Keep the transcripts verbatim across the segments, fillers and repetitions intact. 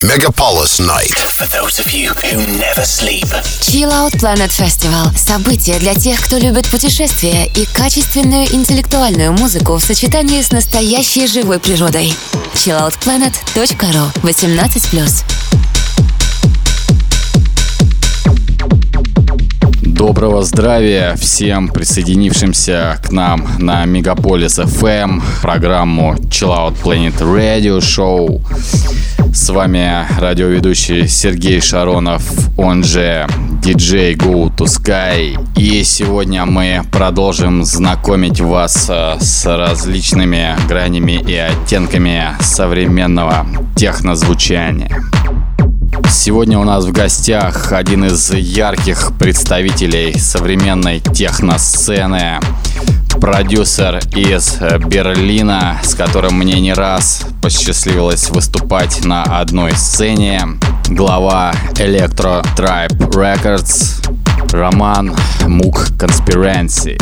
Megapolis Night. For those of you who never sleep. Chill Out Planet Festival. Событие для тех, кто любит путешествия и качественную интеллектуальную музыку в сочетании с настоящей живой природой. чилл аут планет точка ру. восемнадцать плюс. Доброго здравия всем присоединившимся к нам на Мегаполис эф эм, программу Chill Out Planet Radio Show. С вами радиоведущий Сергей Шаронов, он же диджей Go to Sky. И сегодня мы продолжим знакомить вас с различными гранями и оттенками современного технозвучания. Сегодня у нас в гостях один из ярких представителей современной техносцены, продюсер из Берлина, с которым мне не раз посчастливилось выступать на одной сцене, глава Electro Tribe Records Роман Мук Conspiracy.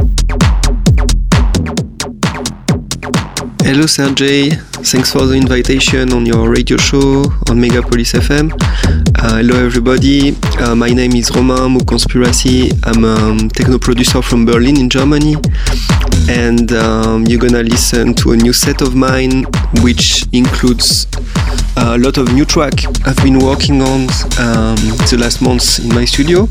Hello Sergey, thanks for the invitation on your radio show on Megapolis эф эм. Uh, hello everybody, uh, my name is Romain Mou Conspiracy. I'm a techno producer from Berlin in Germany, and um, you're gonna listen to a new set of mine which includes a lot of new track I've been working on um, the last months in my studio.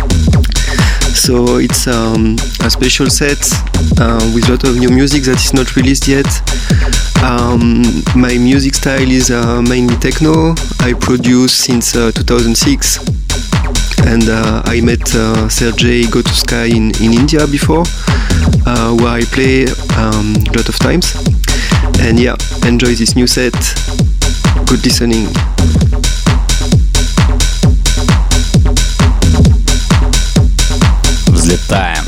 So it's um, a special set uh, with a lot of new music that is not released yet. Um, my music style is uh, mainly techno. I produce since uh, two thousand six, and uh, I met uh, Sergey Go to Sky in, in India before, uh, where I play um, a lot of times. And yeah, enjoy this new set. Good listening. Взлетаем.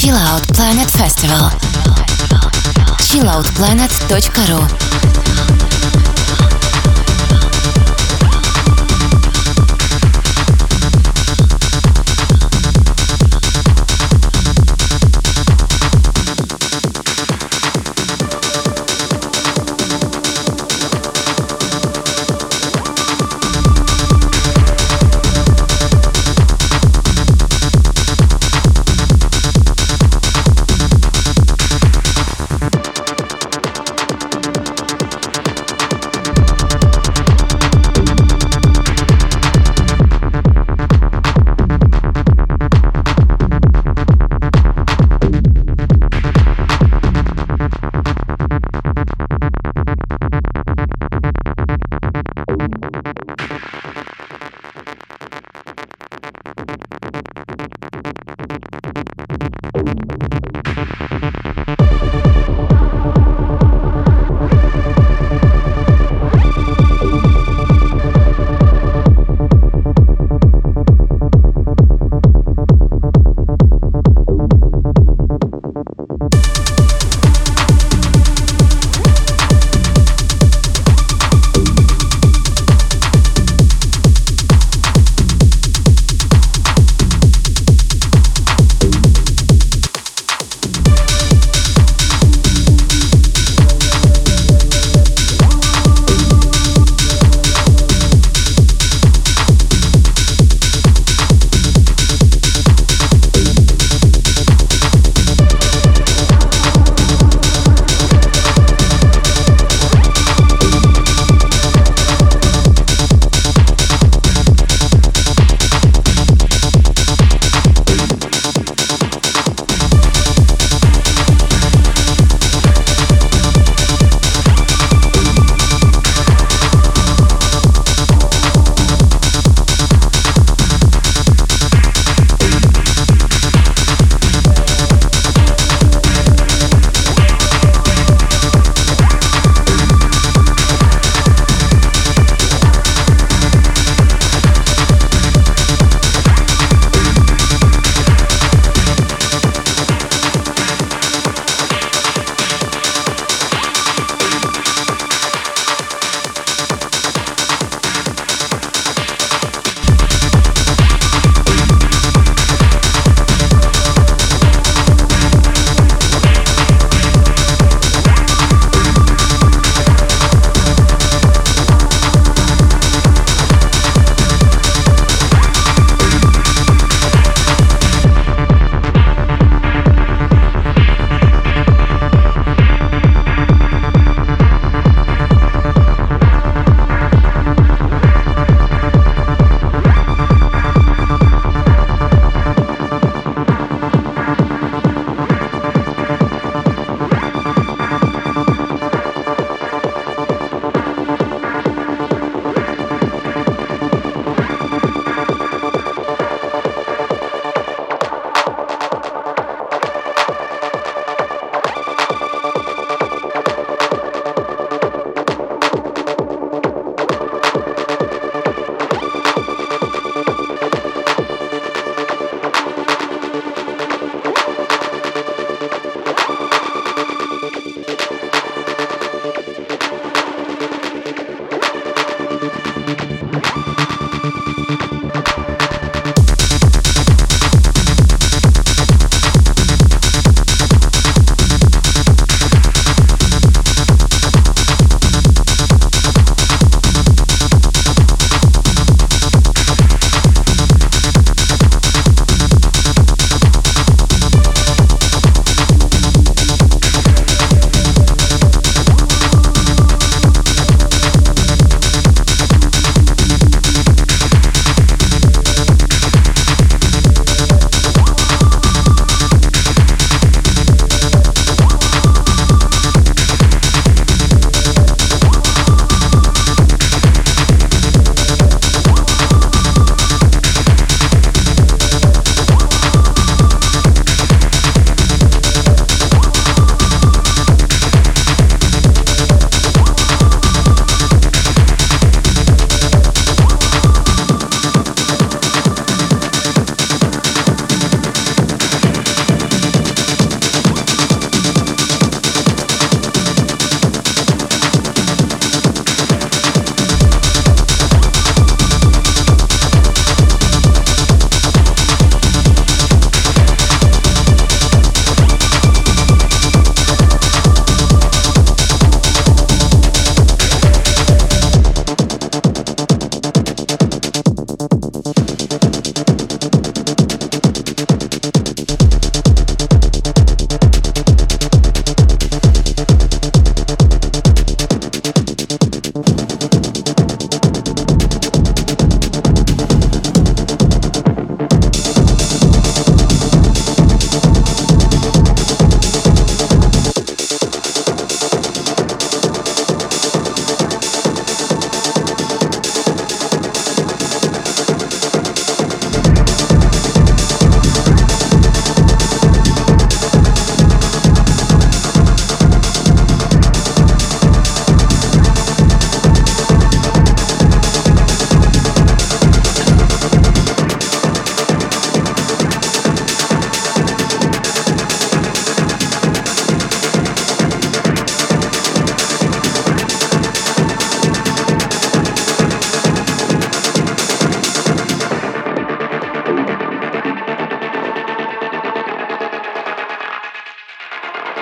Chill Out Planet Festival. чилл аут планет точка ру.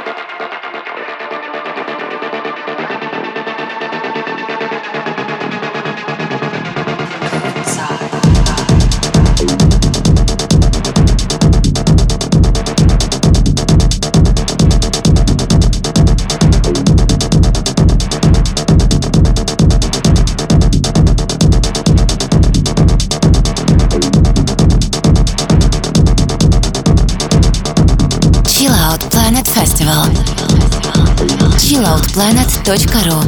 чилл аут планет точка ру.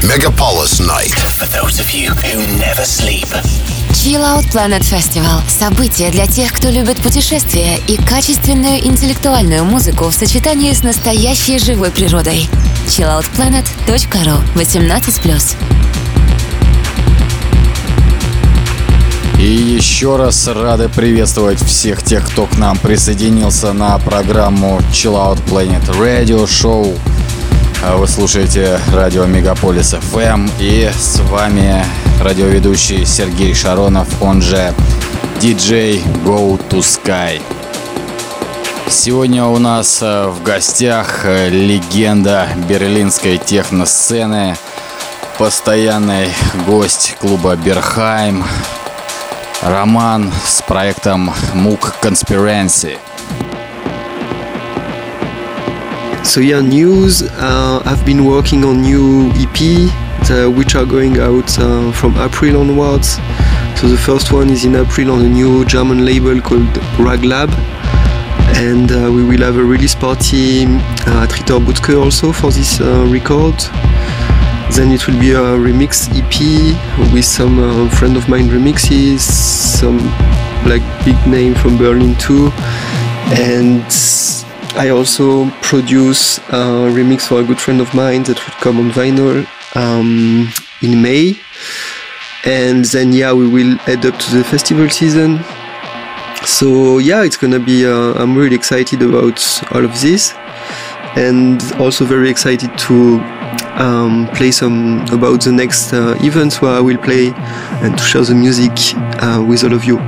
Megapolis Night. For those of you who never sleep. Chill Out Planet Festival – событие для тех, кто любит путешествия и качественную интеллектуальную музыку в сочетании с настоящей живой природой. чилл аут планет точка ру. восемнадцать плюс. И еще раз рады приветствовать всех тех, кто к нам присоединился на программу Chill Out Planet Radio Show. Вы слушаете радио Мегаполис эф эм, и с вами радиоведущий Сергей Шаронов, он же диджей Go to Sky. Сегодня у нас в гостях легенда берлинской техно-сцены, постоянный гость клуба Берхайм, Роман с проектом Mook Conspiracy. So yeah, news. Uh, I've been working on new E P, the, which are going out uh, from April onwards. So the first one is in April on a new German label called Raglab, and uh, we will have a release party uh, at Ritter Butzke also for this uh, record. Then it will be a remix E P with some uh, friend of mine remixes, some like big name from Berlin too, and I also produce a remix for a good friend of mine that will come on vinyl um, in May. And then yeah, we will head up to the festival season. So yeah, it's gonna be, uh, I'm really excited about all of this. And also very excited to um, play some about the next uh, events where I will play and to share the music uh, with all of you.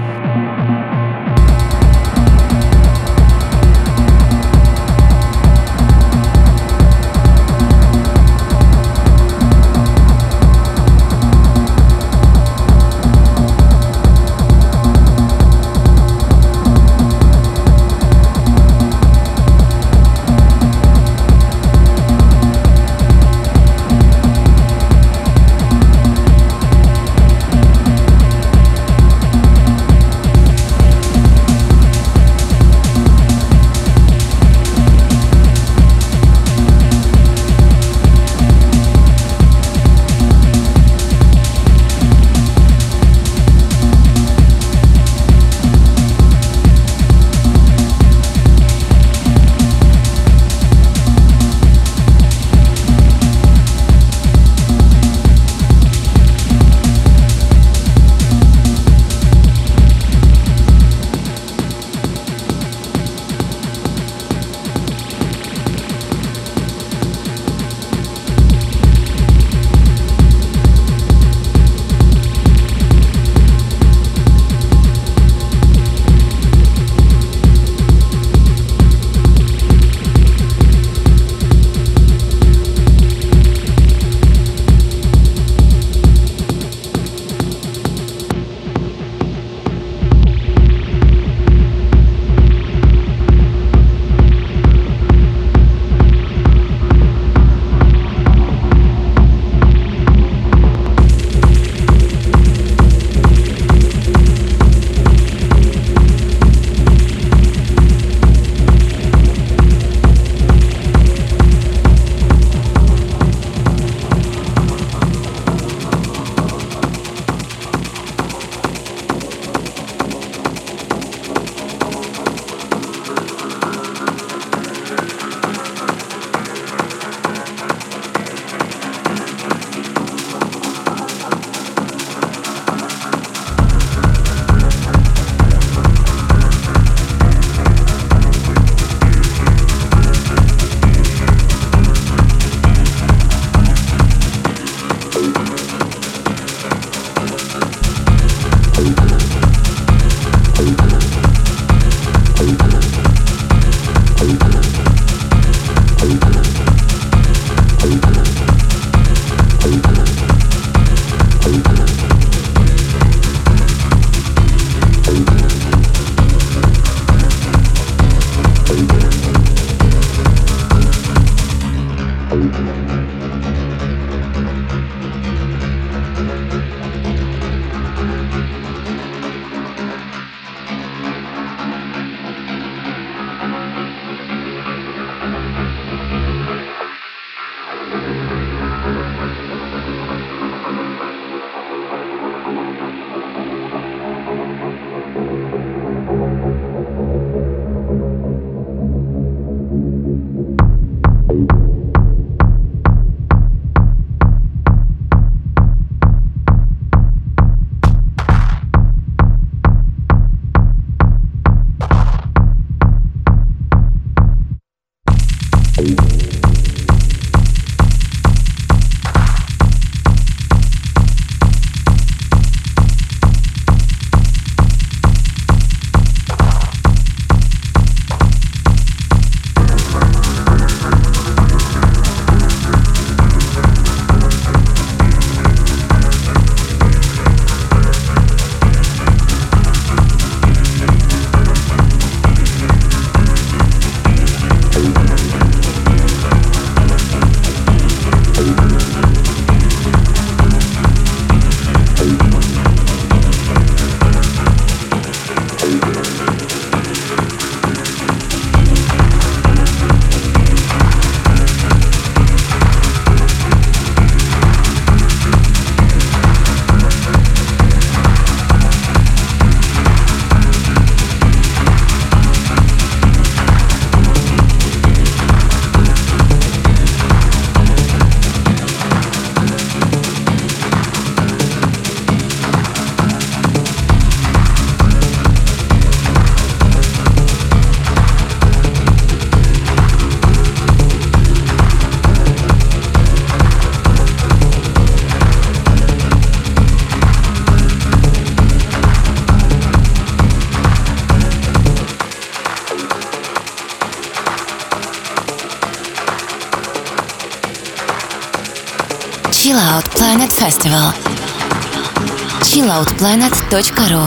Chill Out Planet Festival. чилл аут планет точка ру.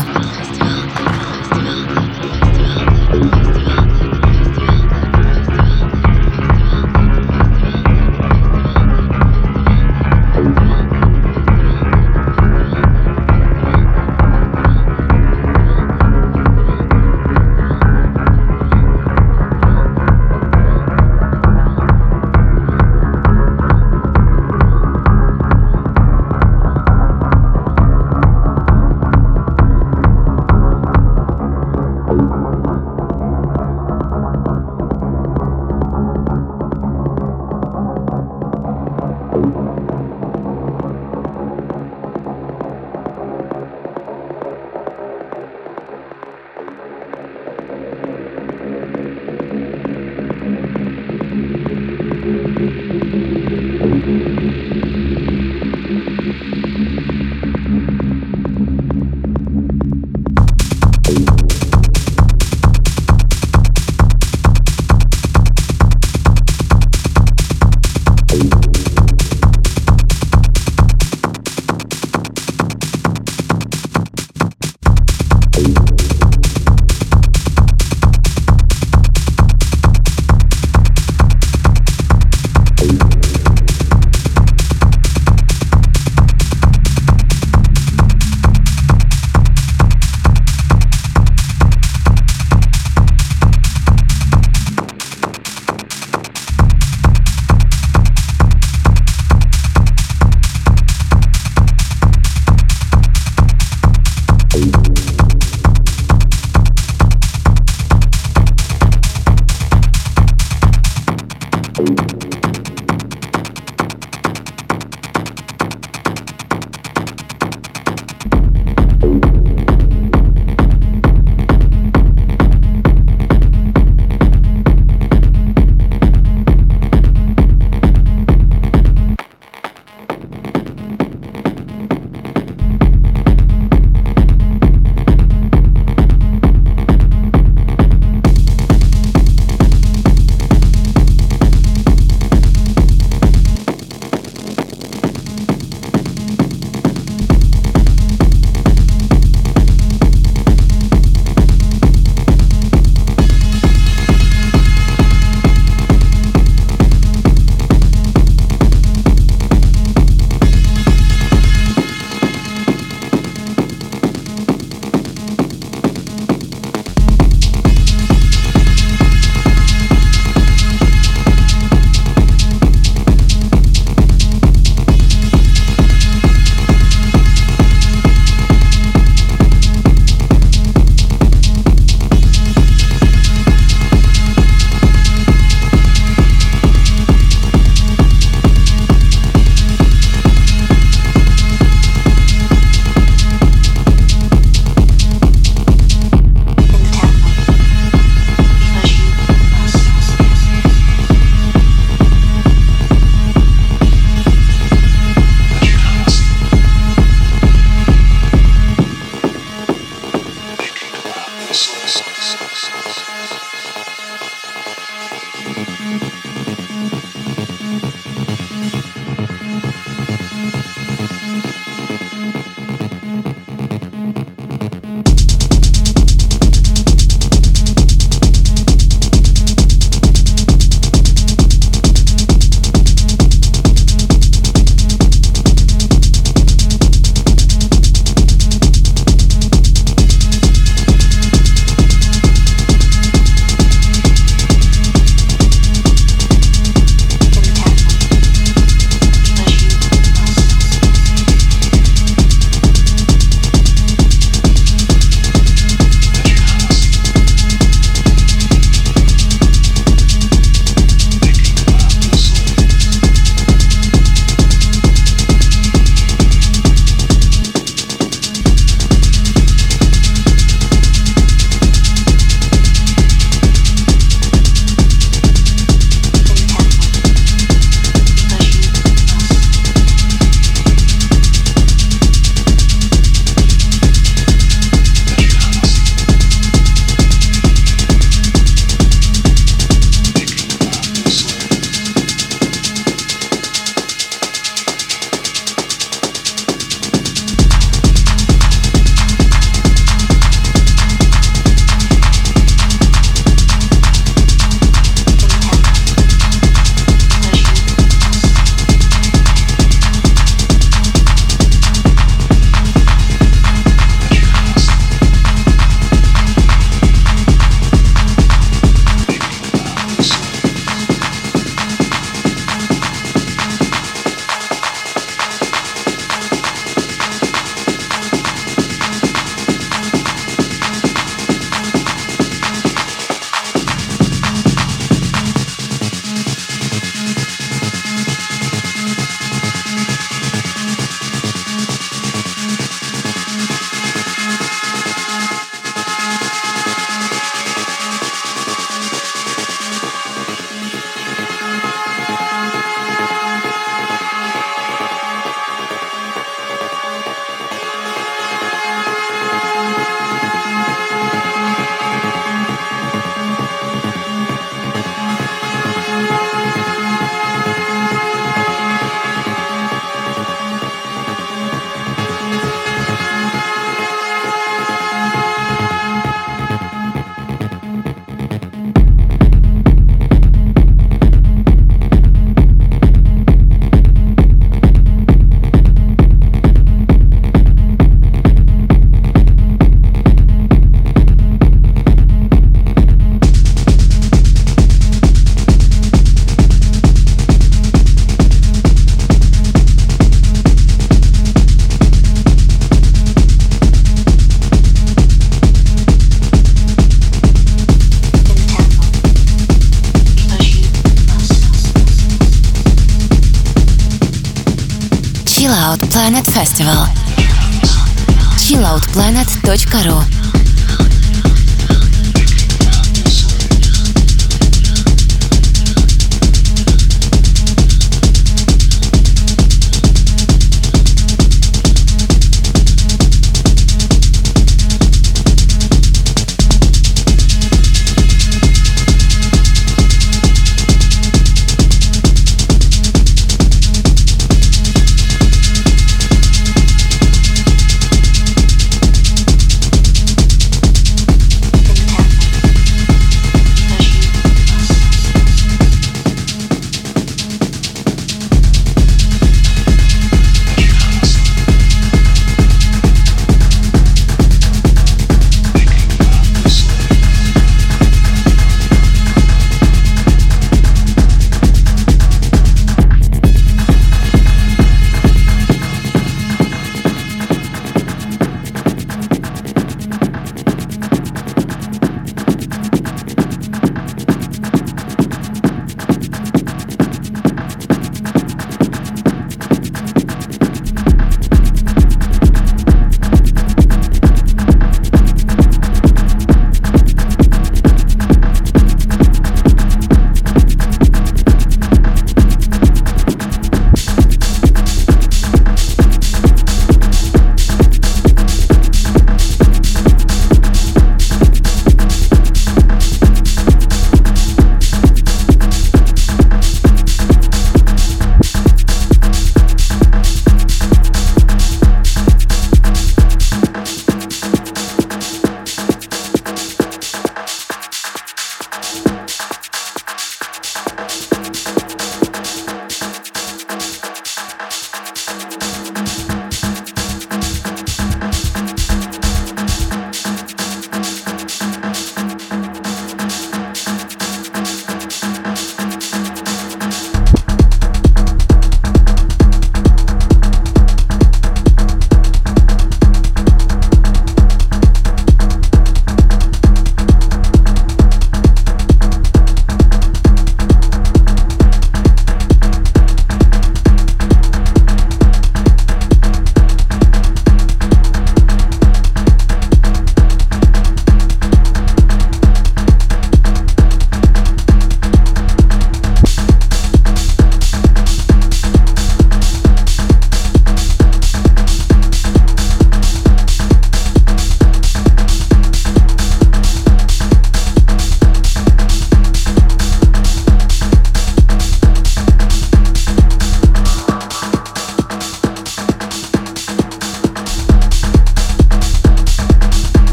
Chillout Planet Festival. чиллаут планет точка ру.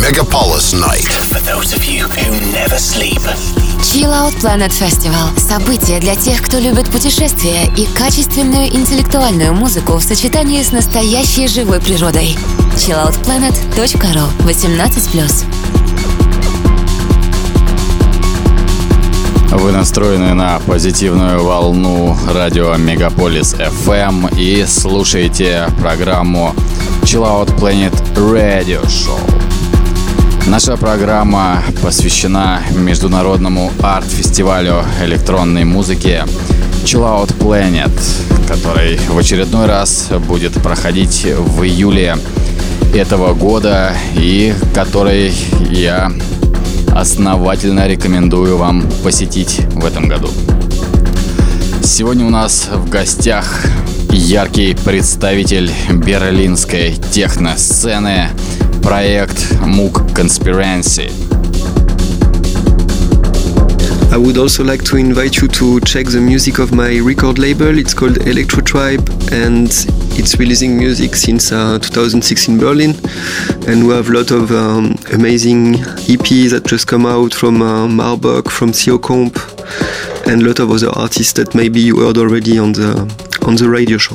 Megapolis Night. For those of you who never sleep. Chill Out Planet Festival. Событие для тех, кто любит путешествия и качественную интеллектуальную музыку в сочетании с настоящей живой природой. чилл аут планет точка ру. восемнадцать плюс. Вы настроены на позитивную волну радио Мегаполис эф эм и слушаете программу Chill Out Planet Radio Show. Наша программа посвящена международному арт-фестивалю электронной музыки Chill Out Planet, который в очередной раз будет проходить в июле этого года и который я основательно рекомендую вам посетить в этом году. Сегодня у нас в гостях яркий представитель берлинской техно-сцены, проект Moog Conspiracy. I would also like to invite you to check the music of my record label. It's called Electro Tribe, and it's releasing music since uh, two thousand six in Berlin. And we have a lot of um, amazing E Ps that just come out from uh, Marbach, from C O Comp, and a lot of other artists that maybe you heard already on the on the radio show.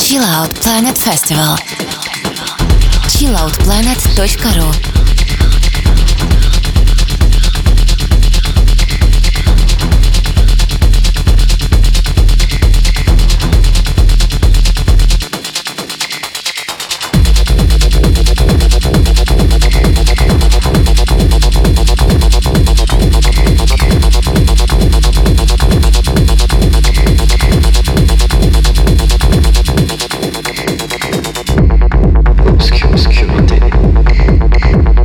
Chill Out Planet Festival. чилл аут планет точка ру. Obscurité.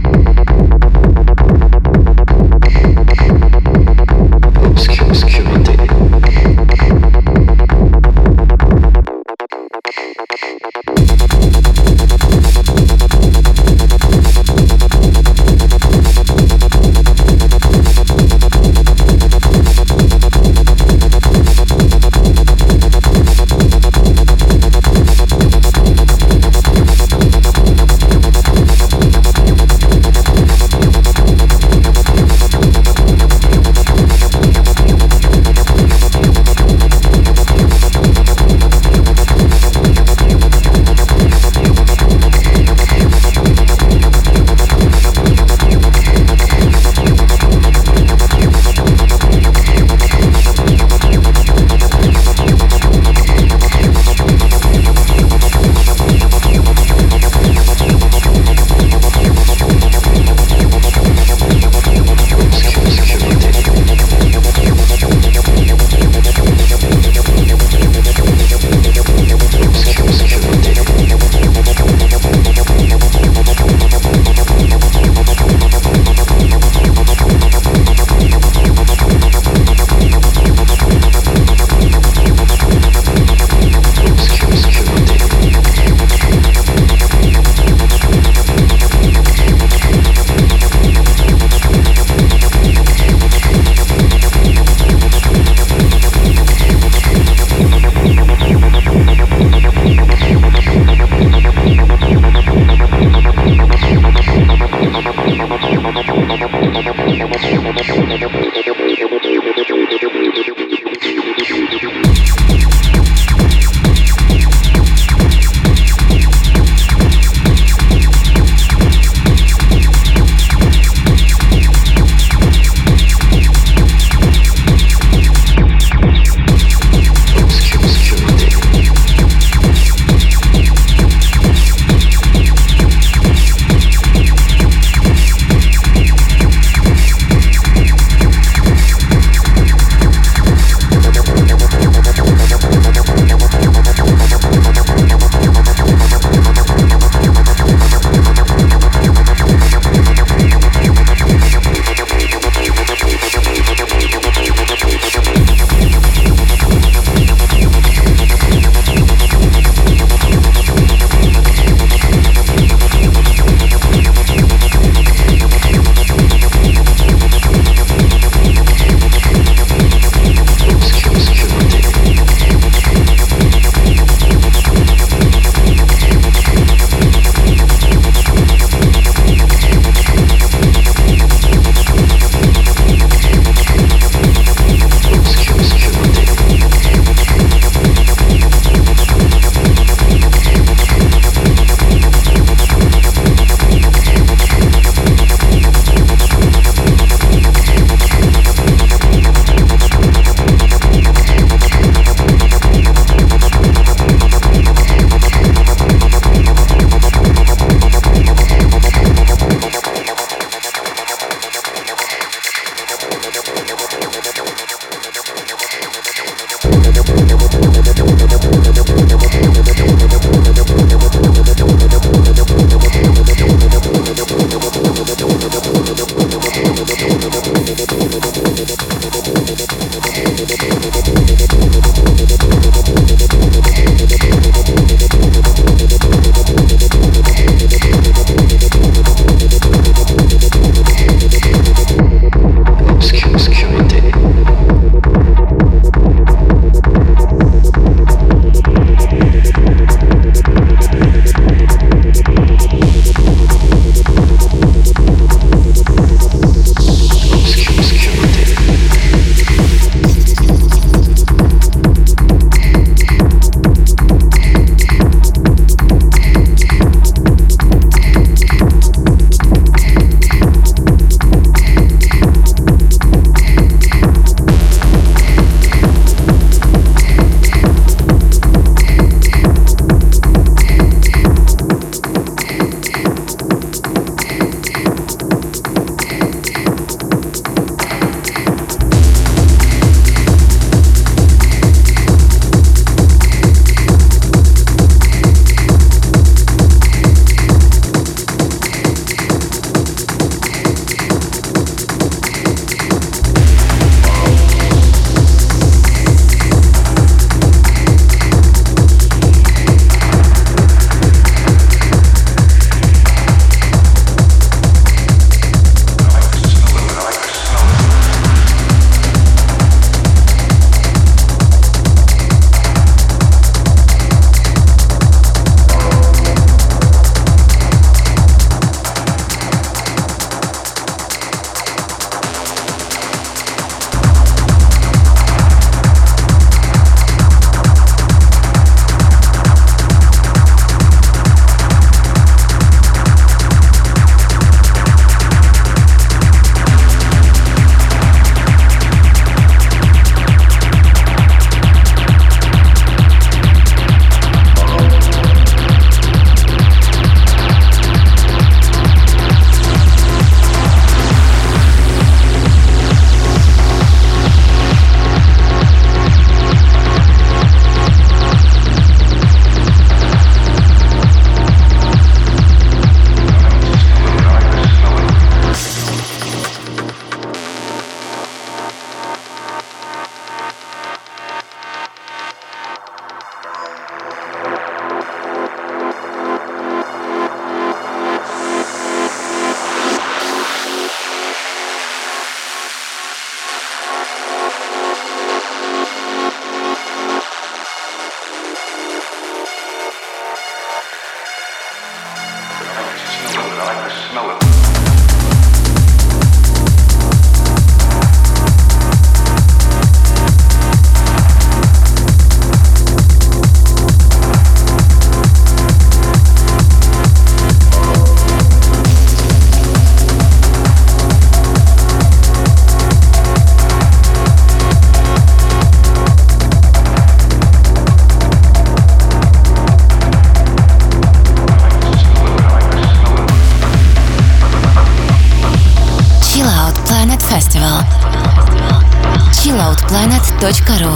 точка ру.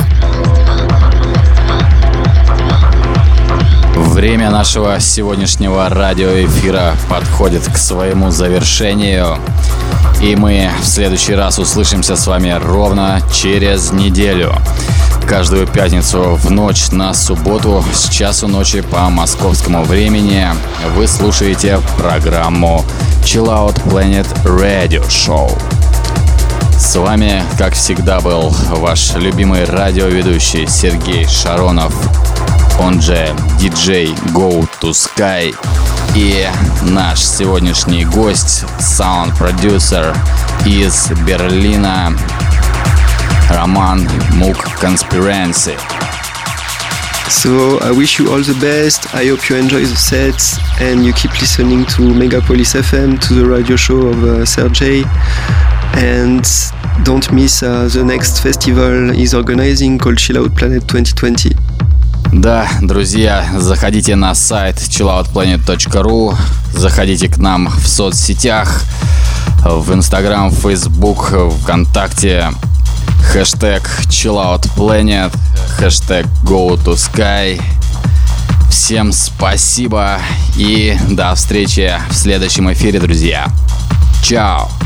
Время нашего сегодняшнего радиоэфира подходит к своему завершению. И мы в следующий раз услышимся с вами ровно через неделю. Каждую пятницу в ночь на субботу с часу ночи по московскому времени вы слушаете программу Chill Out Planet Radio Show. С вами, как всегда, был ваш любимый радиоведущий Сергей Шаронов, он же диджей Go to Sky, и наш сегодняшний гость, саунд-продюсер из Берлина, Роман Мук Conspiracy. So I wish you all the best. I hope you enjoy the sets and you keep listening to Megapolis F M, to the radio show of uh, Sergey. And don't miss uh, the next festival he's organizing called Chill Out Planet twenty twenty. Да, друзья, заходите на сайт chill out planet точка ру, заходите к нам в соцсетях, в Instagram, Facebook, ВКонтакте, хэштег Chill Out Planet, хэштег Go to Sky. Всем спасибо и до встречи в следующем эфире, друзья. Чао!